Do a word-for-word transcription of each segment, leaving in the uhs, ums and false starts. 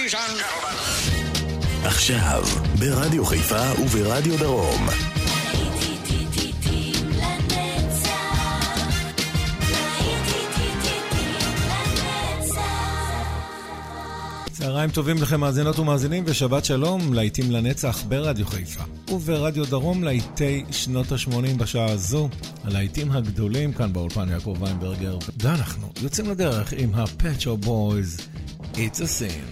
Ladies and gentlemen. עכשיו, ברדיו חיפה וברדיו דרום. צהריים טובים לכם מאזינות ומאזינים ושבת שלום, להיטים לנצח ברדיו חיפה וברדיו דרום, להיטי שנות ה-שמונים בשעה הזו, הלהיטים הגדולים כאן באולפן יעקב ויינברגר, ואנחנו יוצאים לדרך עם ה-Pet Shop Boys, It's a Sin.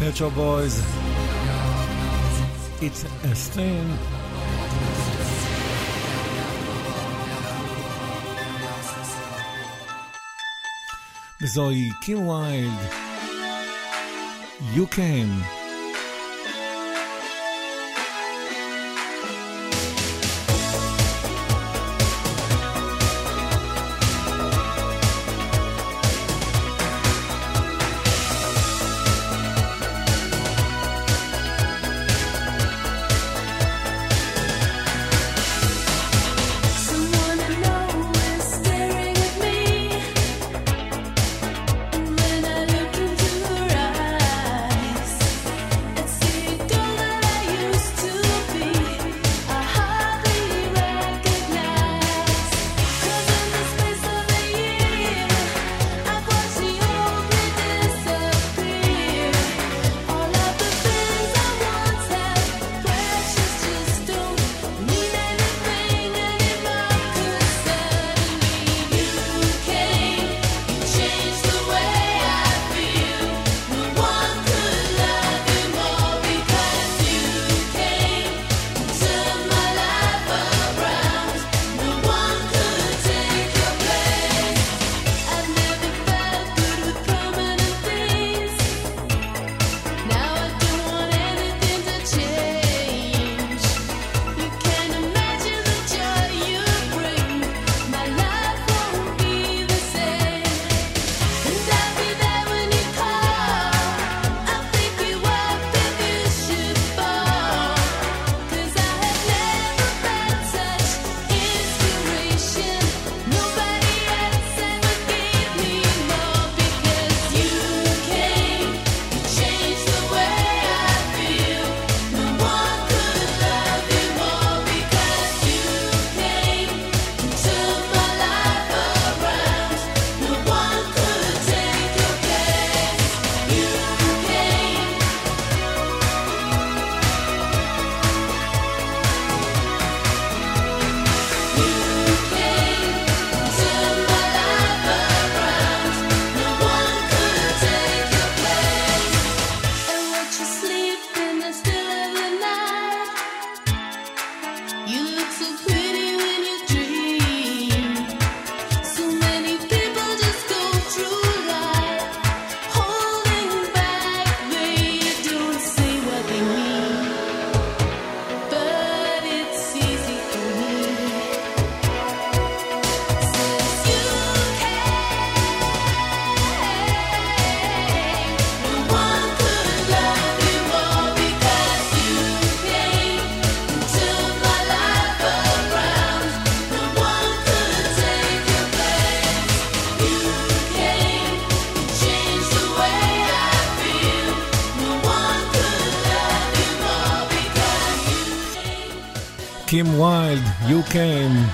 Pet Shop Boys, It's a Thing. וזוהי קים ויילד, You Came. קים ויילד, You Came.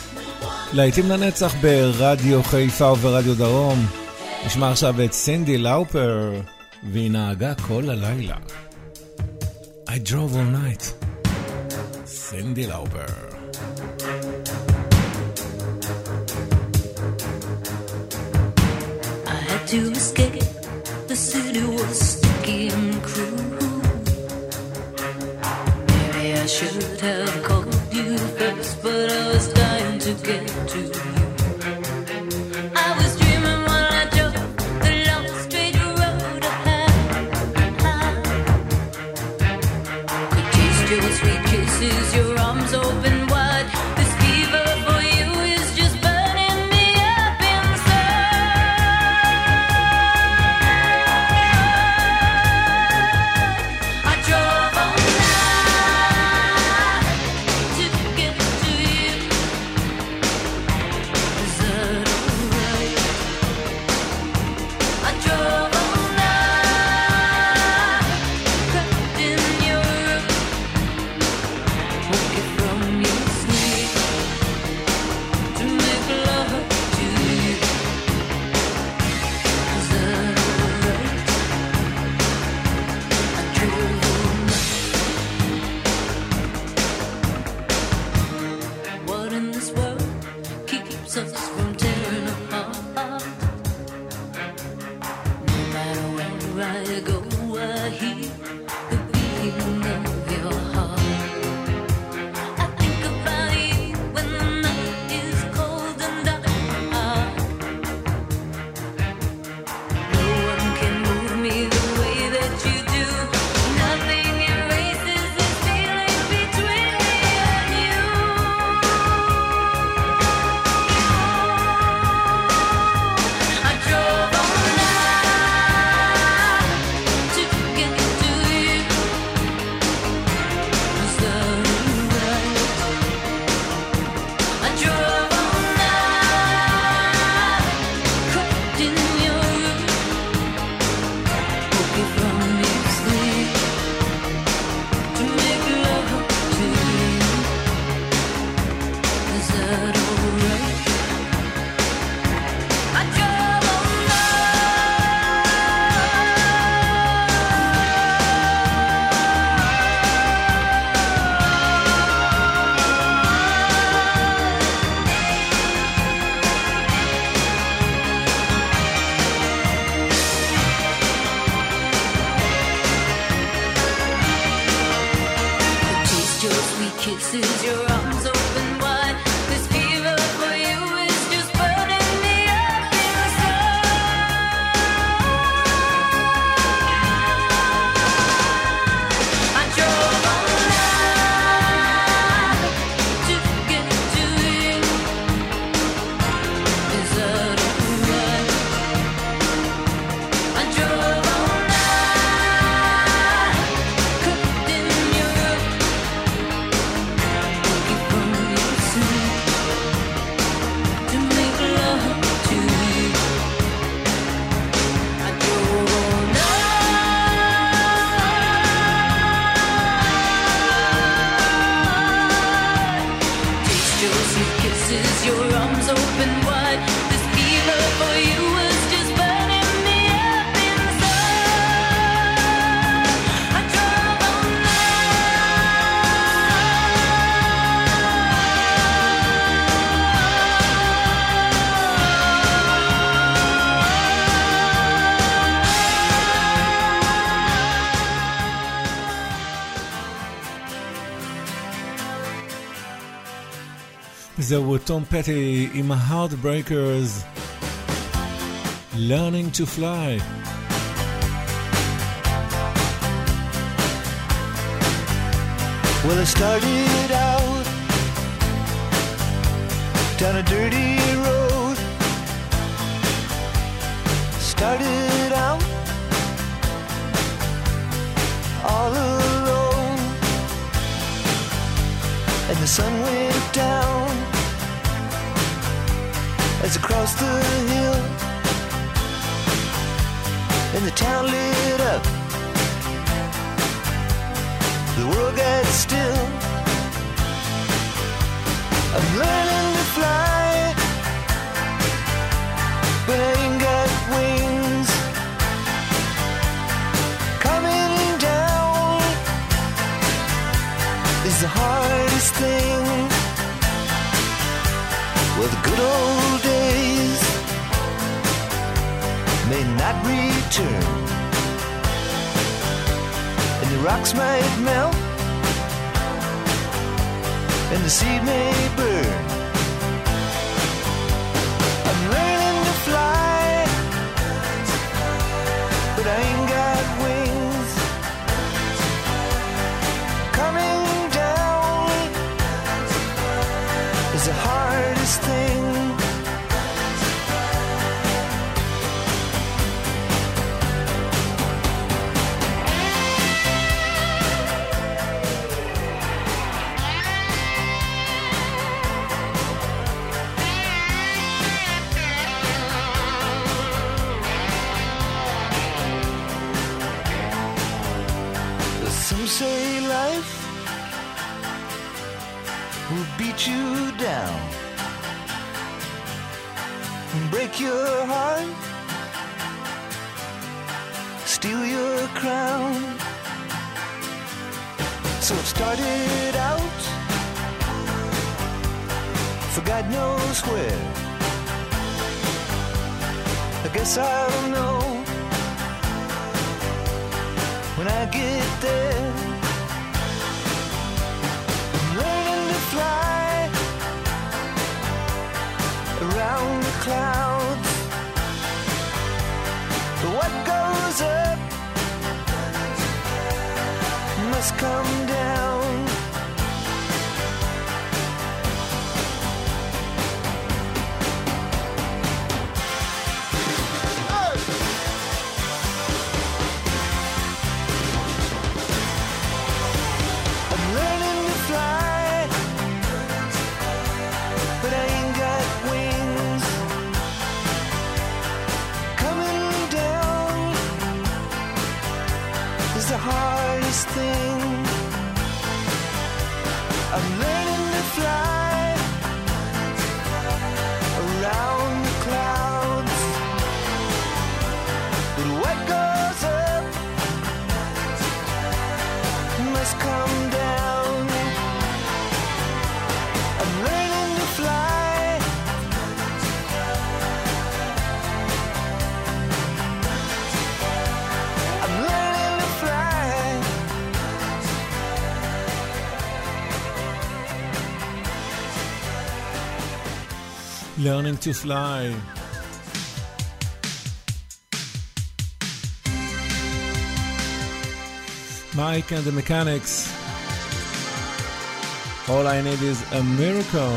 להיטים לנצח ברדיו חיפה וברדיו דרום. נשמע עכשיו את סינדי לאופר, והיא נהגה כל הלילה. I drove all night. סינדי לאופר. I had to escape. The city was sticky and cruel. Maybe I should have called you first, but I was dying to get to you. I was dreaming while I drove the long straight road ahead. Could taste your sweet kisses, your arms open wide. This fever for you is just burning me up inside. I drove all night to get to you. your sweet kisses, your arms open wide. This fever for you was just burning me up inside. I drove all זהו תום פטי עם ה-Heartbreakers, Learning to Fly. Well, I started out down a dirty road. Started out all alone, and the sun went down as I crossed the hill, and the town lit up. The world got still. I'm learning to fly, but I ain't got wings. Coming down is the hardest thing. Well, the good old days may not return, and the rocks might melt, and the sea may burn. I'm learning to fly, but I ain't got wings. Coming down is the hardest thing. Some say life will beat you down and break your heart, steal your crown. So I've started out for God knows where. I guess I'll know when I get there. I'm learning to fly around the clouds, but what goes up must come down. The hardest thing. I'm learning to fly around the clouds, but what goes up must come down. I'm learning to fly. I'm learning to fly. Learning to Fly. Mike and the Mechanics. All I Need is a Miracle.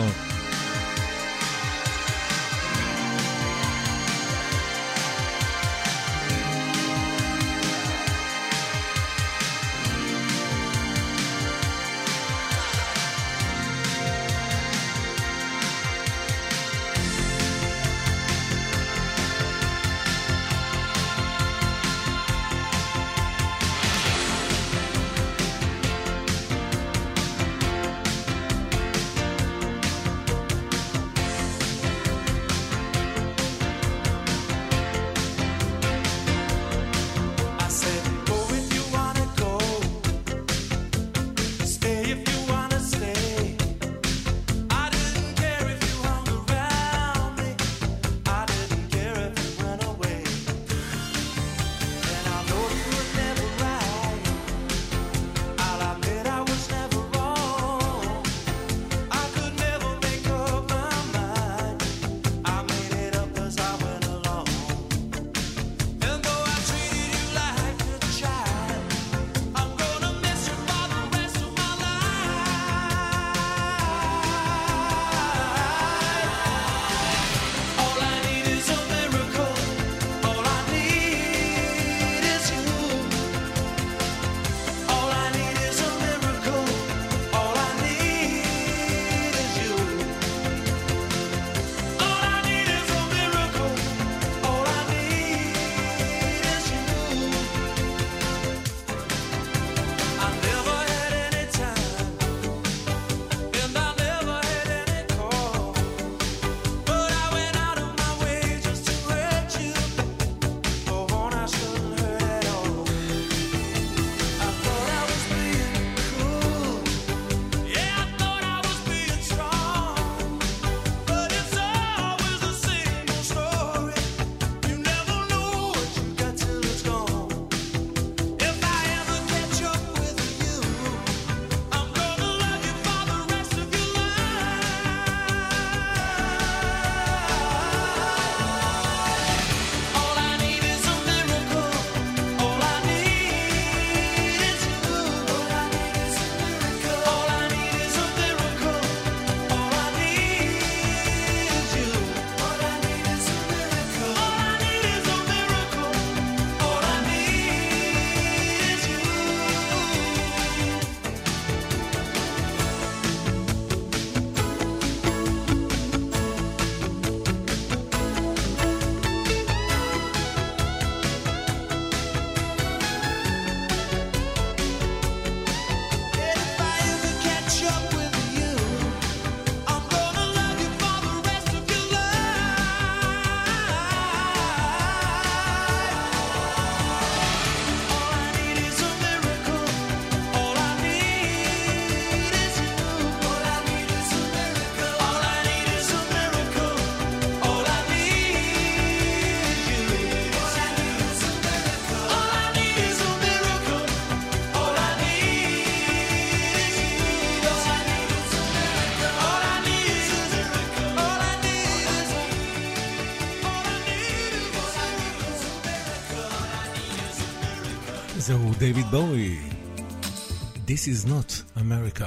זהו דיוויד בואי. This is not America.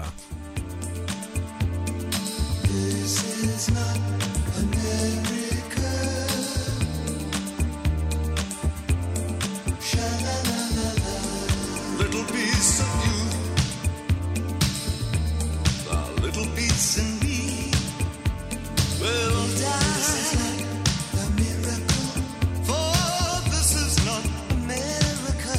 This is not America. Sha-la-la-la-la. Little piece of you, a little piece in me will die. This is not a miracle, for this is not America.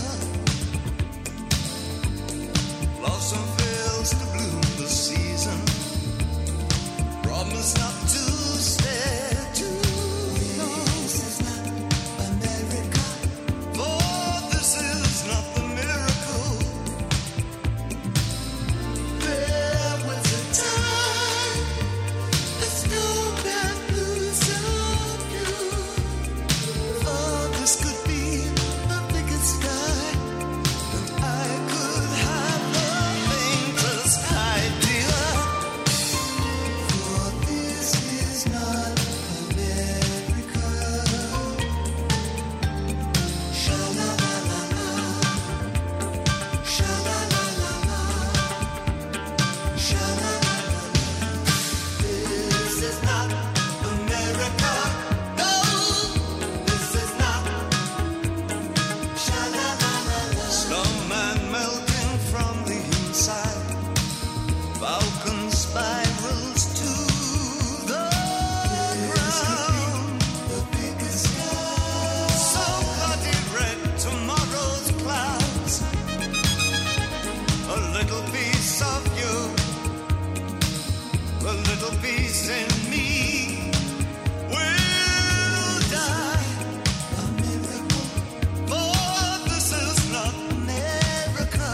Blossom fails to bloom this season. Promise not to stare too long. This is not America, for this is not the miracle. There was a time the snowman blues of you. For this could be the biggest sky, and I could have the faintest idea. For this is not America. Sha-la-la-la-la. Sha-la-la-la-la. Sha-la-la-la-la. This is not America. No, this is not. Sha-la-la-la-la. Snowman melting from the inside. Falcon spirals to the ground. The biggest sky. So bloody red, tomorrow's clouds. A little piece of you, a little piece in me will die. A miracle, for this is not America.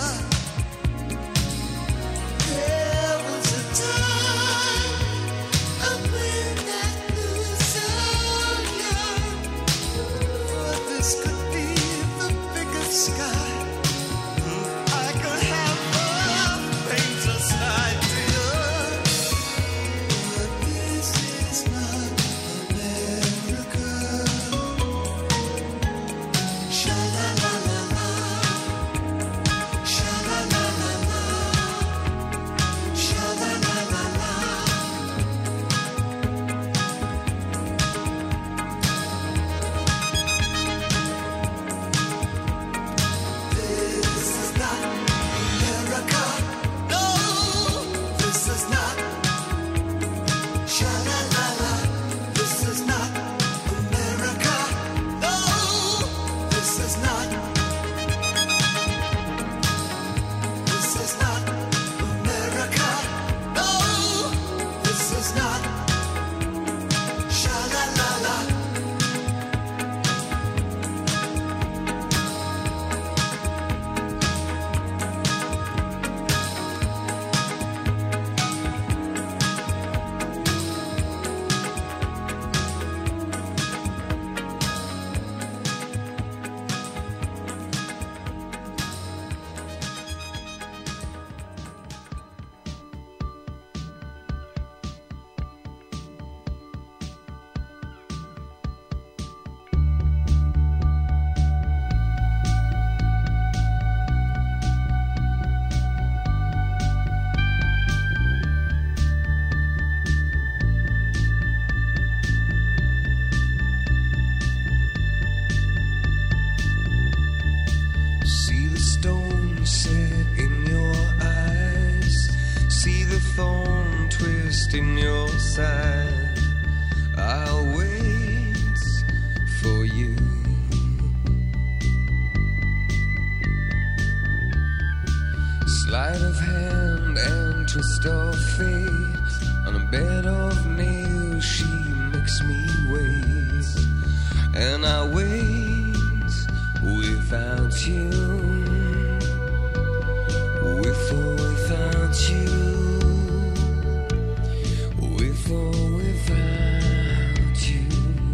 There was a time up when that blues of young. For this could be the biggest sky. I could have the faintest idea. But this is not America. Sha-la-la-la-la. Sha-la-la-la-la. Sha-la-la-la-la. This is not America. No, this is not. Sha-la-la-la. This is not America. No, this is not. This is not America. No, this is not. Sha-la-la-la. See the stone set in your eyes. See the thorn twist in your side. I'll wait for you. Sleight of hand and twist of fate. On a bed of nails she makes me wait. And I wait without you. With or without you. With or without you.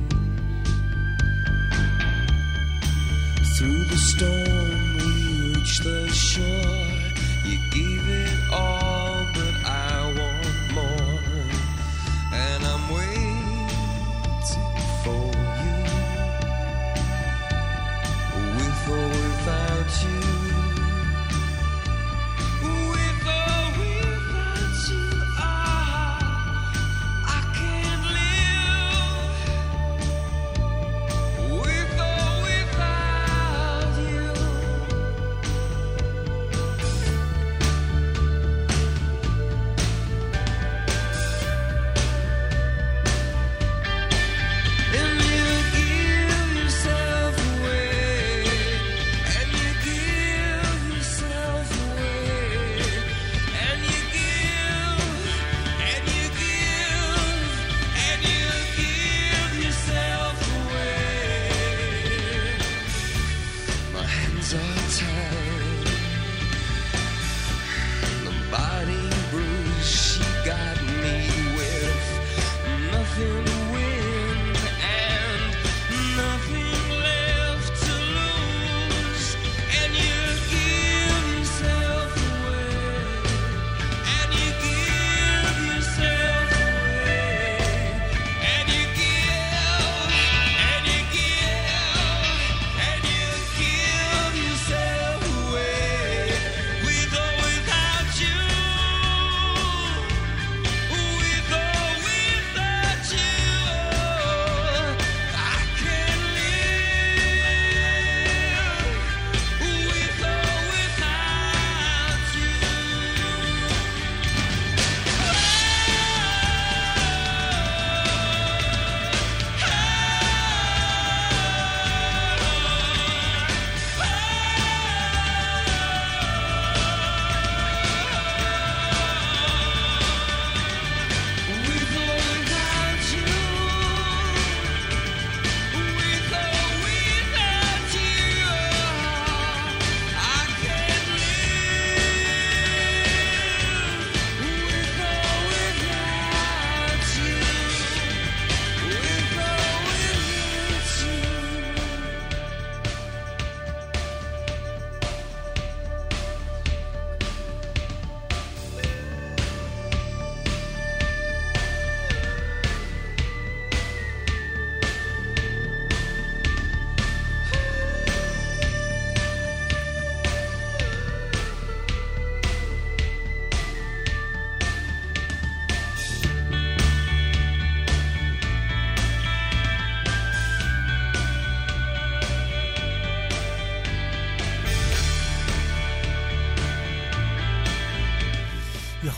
Through the storm we reach the shore. You gave it all, but I want more. And I'm waiting for you. With or without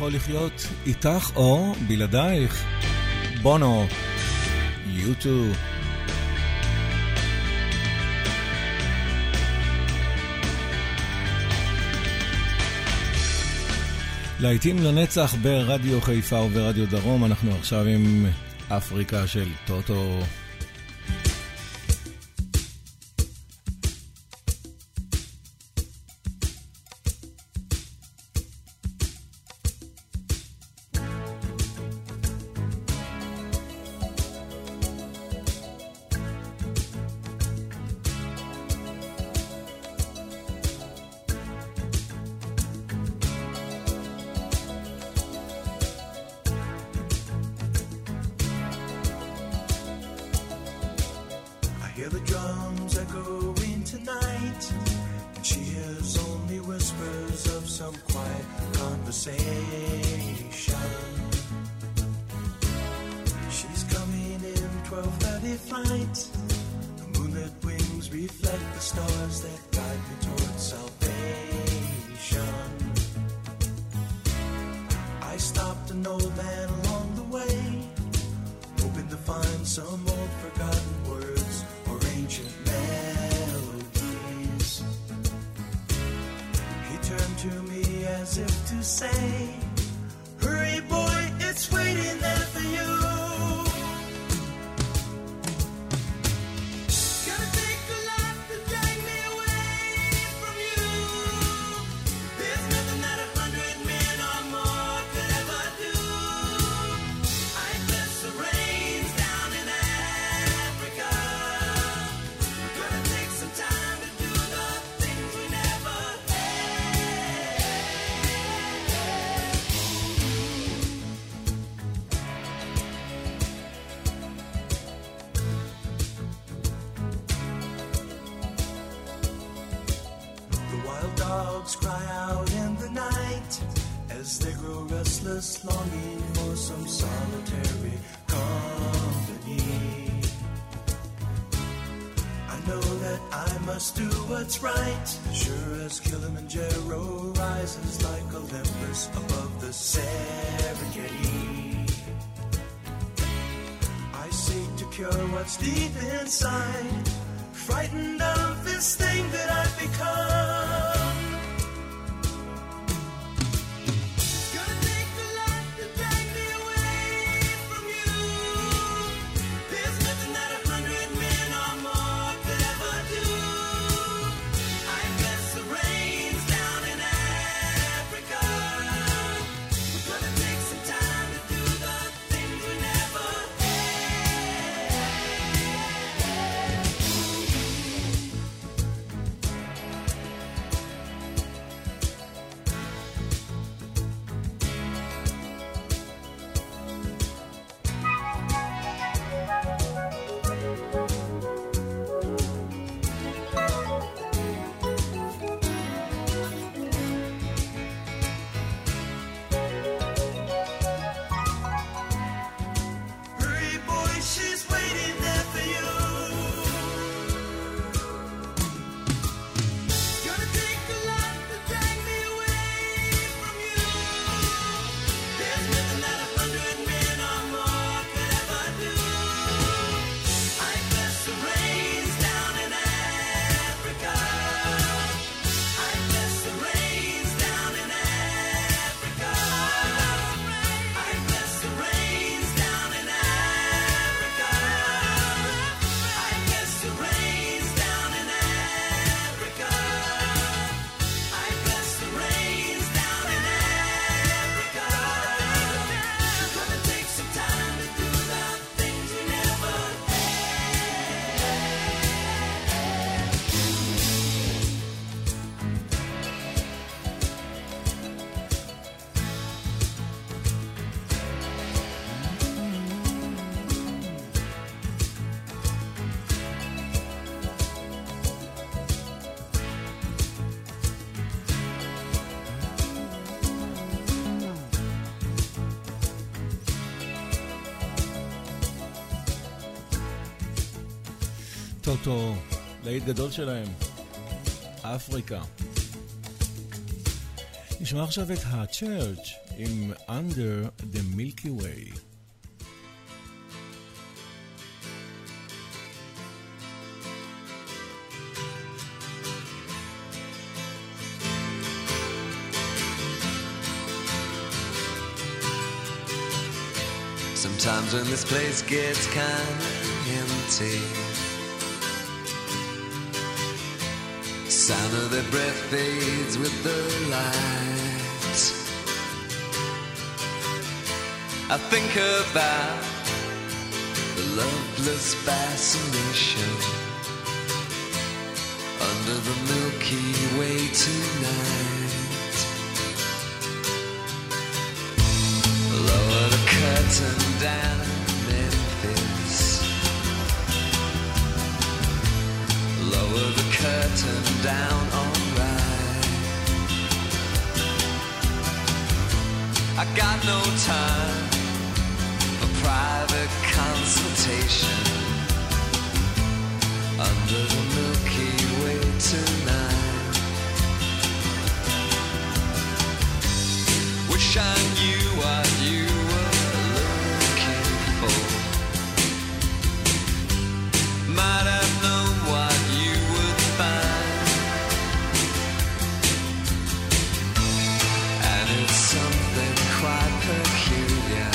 יכול לחיות איתך או בלעדייך. בונו, יו טו. להיטים לנצח ברדיו חיפה וברדיו דרום. אנחנו עכשיו עם אפריקה של טוטו. Longing for some solitary company. I know that I must do what's right, sure as Kilimanjaro rises like Olympus above the Serengeti. I seek to cure what's deep inside, frightened of this thing that I've become. טוטו, להיט גדול שלהם, אפריקה. נשמע עכשיו את ה-Church עם Under the Milky Way. Sometimes when this place gets kinda empty, sound of their breath fades with the light. I think about the loveless fascination under the Milky Way tonight. Lower the curtain down in Memphis, lower the curtain down, alright. I got no time for private consultation under the Milky Way tonight. Wish I knew what you were looking for, might have known what you would find, and it's something quite peculiar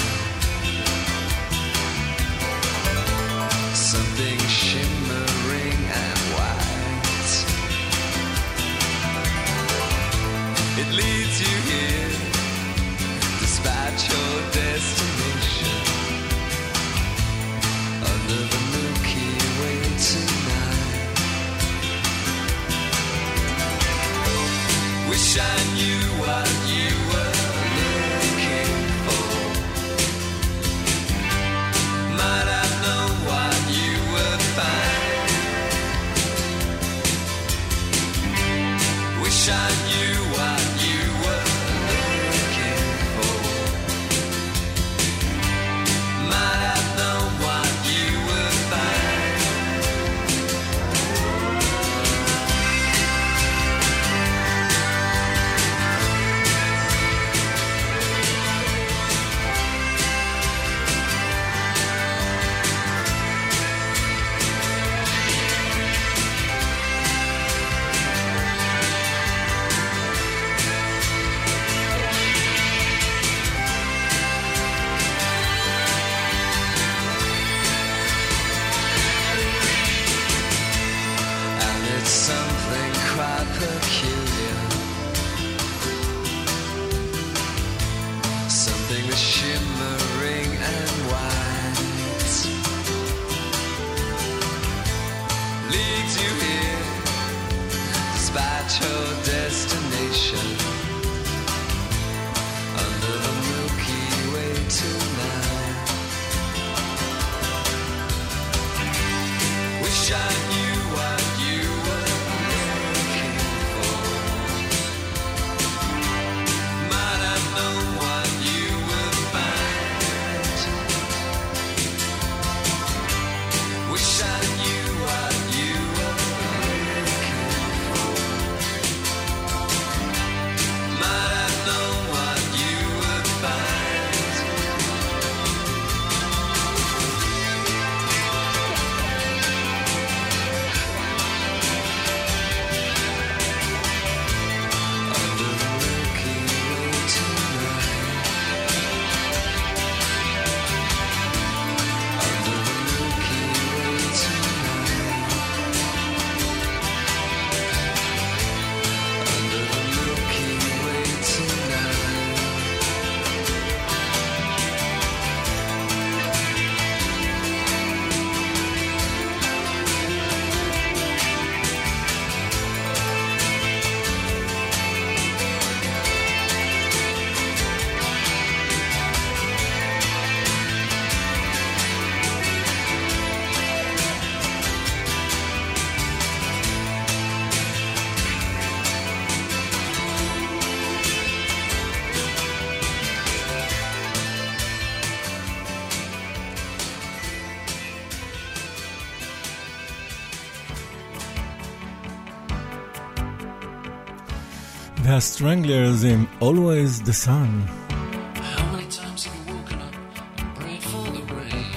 והסטרנגלרס עם Always the Sun. How many times have you woken up and prayed for the rain?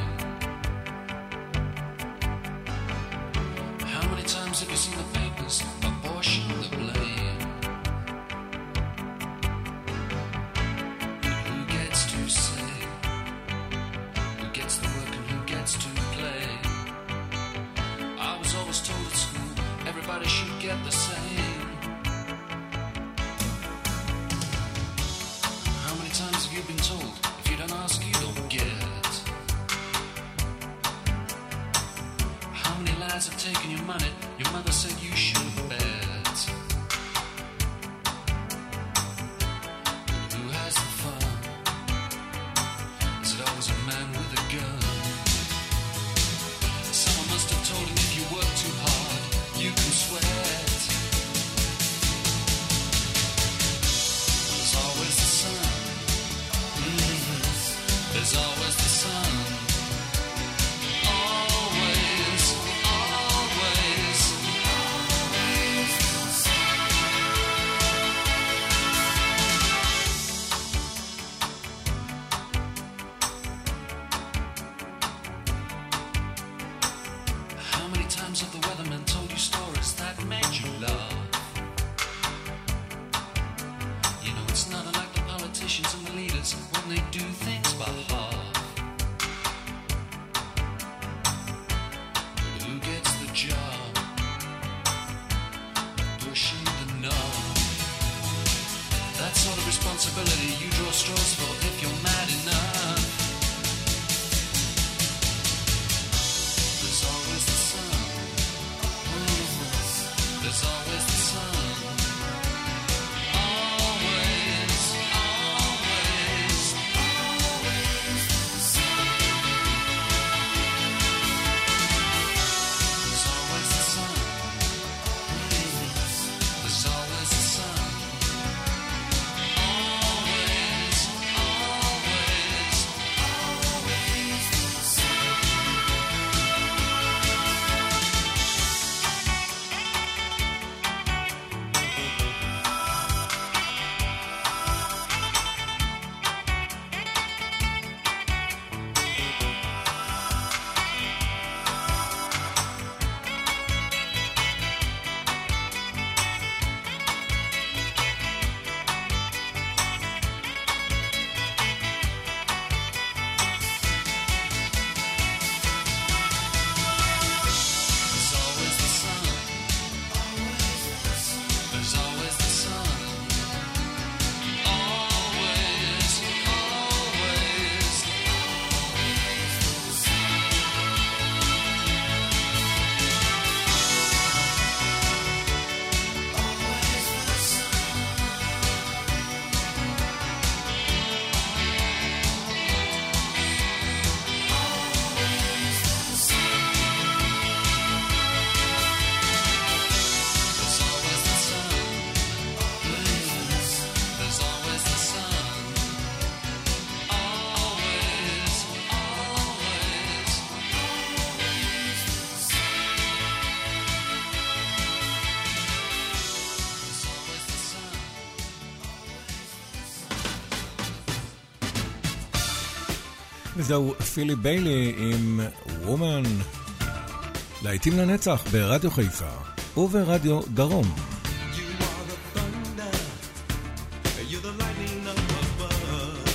How many times have you seen the papers abortion the blame? Who gets to say? Who gets the work and who gets to play? I was always told at school everybody should get the same. How many times have you been told if you don't ask you don't get? How many lies have taken your money? Your mother said you should bet. Who has the fun? Is it always a man with a gun? Someone must have told him if you work too hard, you can sweat. There's always the sun. Mm-hmm. There's always the sun. Always, always, always the sun. How many times have the weathermen told you stories that made you laugh? You know it's not unlike the politicians and the leaders when they do things by half. But who gets the job? Pushing the knob. That sort of responsibility you draw straws for if you're mad enough. There's always the sun. There's always the sun. Always, always, always the sun. There's always the sun. There's always the sun. Always, always, always the sun. There's always the sun. There's always the sun. Always, always, always the sun. Always the There's always the sun. There's always the sun. Always, always, always the sun. There's always the sun. וזהו פילי ביילי עם וומן. להיטים לנצח ברדיו חיפה וברדיו דרום. You are the thunder, you're the lightning up above.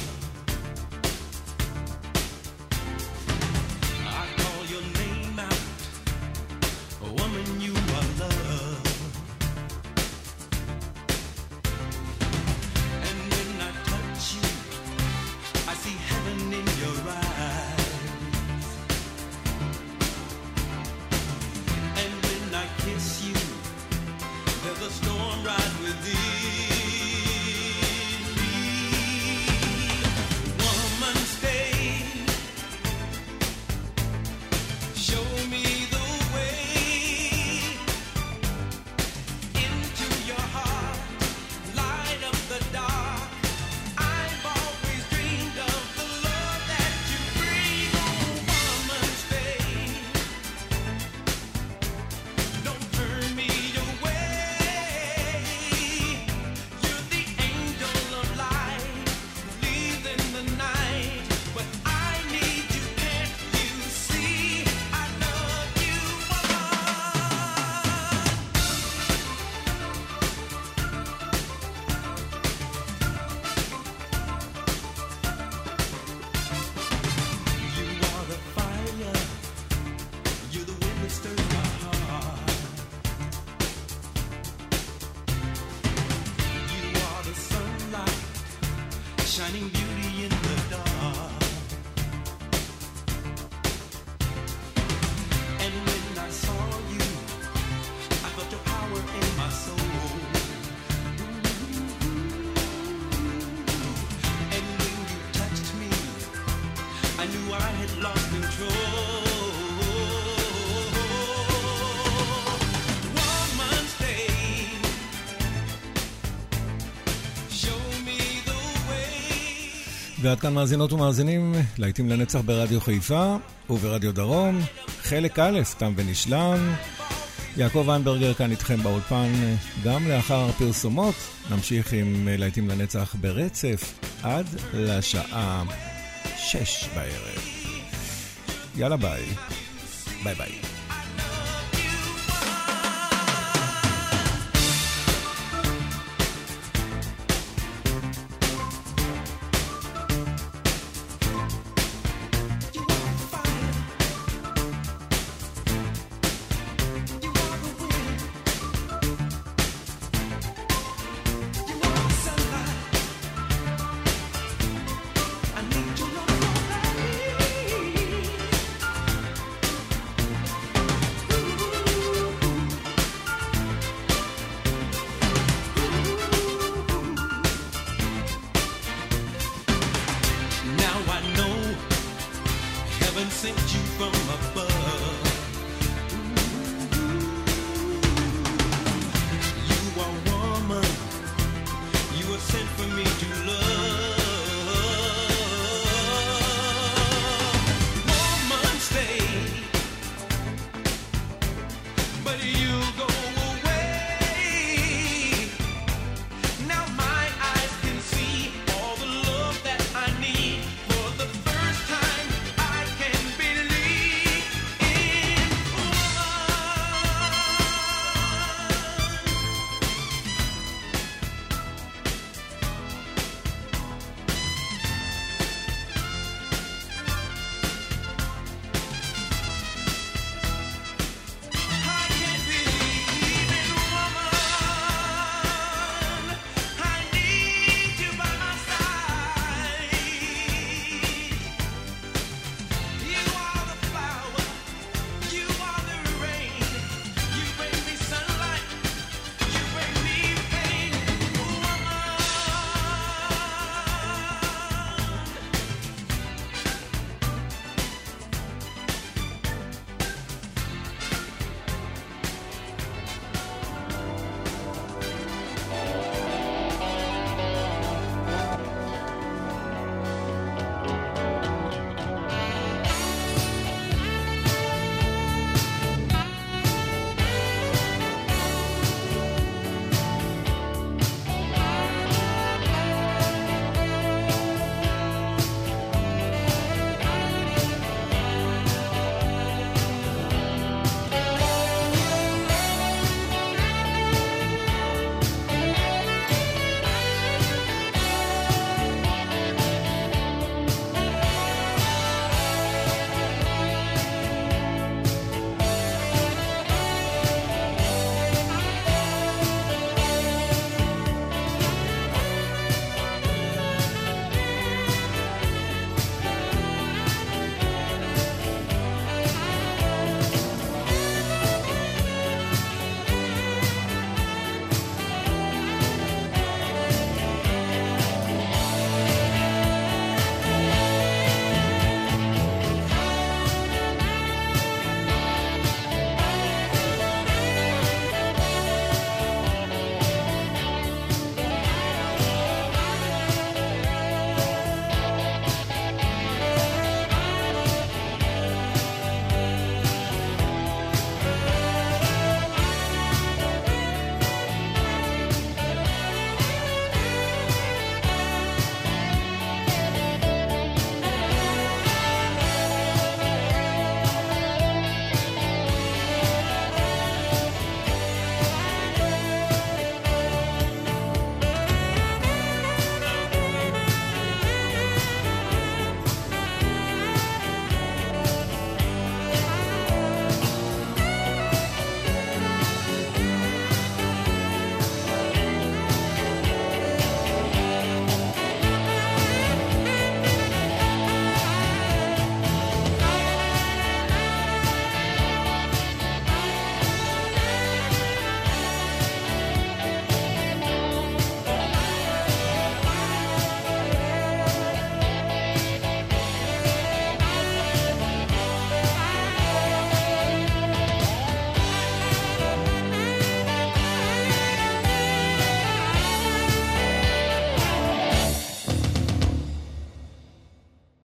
I call your name out, woman, you are love. And when I touch you, I see heaven in your eyes. And when I kiss you, there's ועד כאן מאזינות ומאזינים, להיטים לנצח ברדיו חיפה וברדיו דרום, חלק א', תם ונשלם. יעקב ויינברגר כאן איתכם באולפן גם לאחר הפרסומות. נמשיך עם להיטים לנצח ברצף עד לשעה שש בערב. יאללה ביי. ביי ביי. Sent you from above.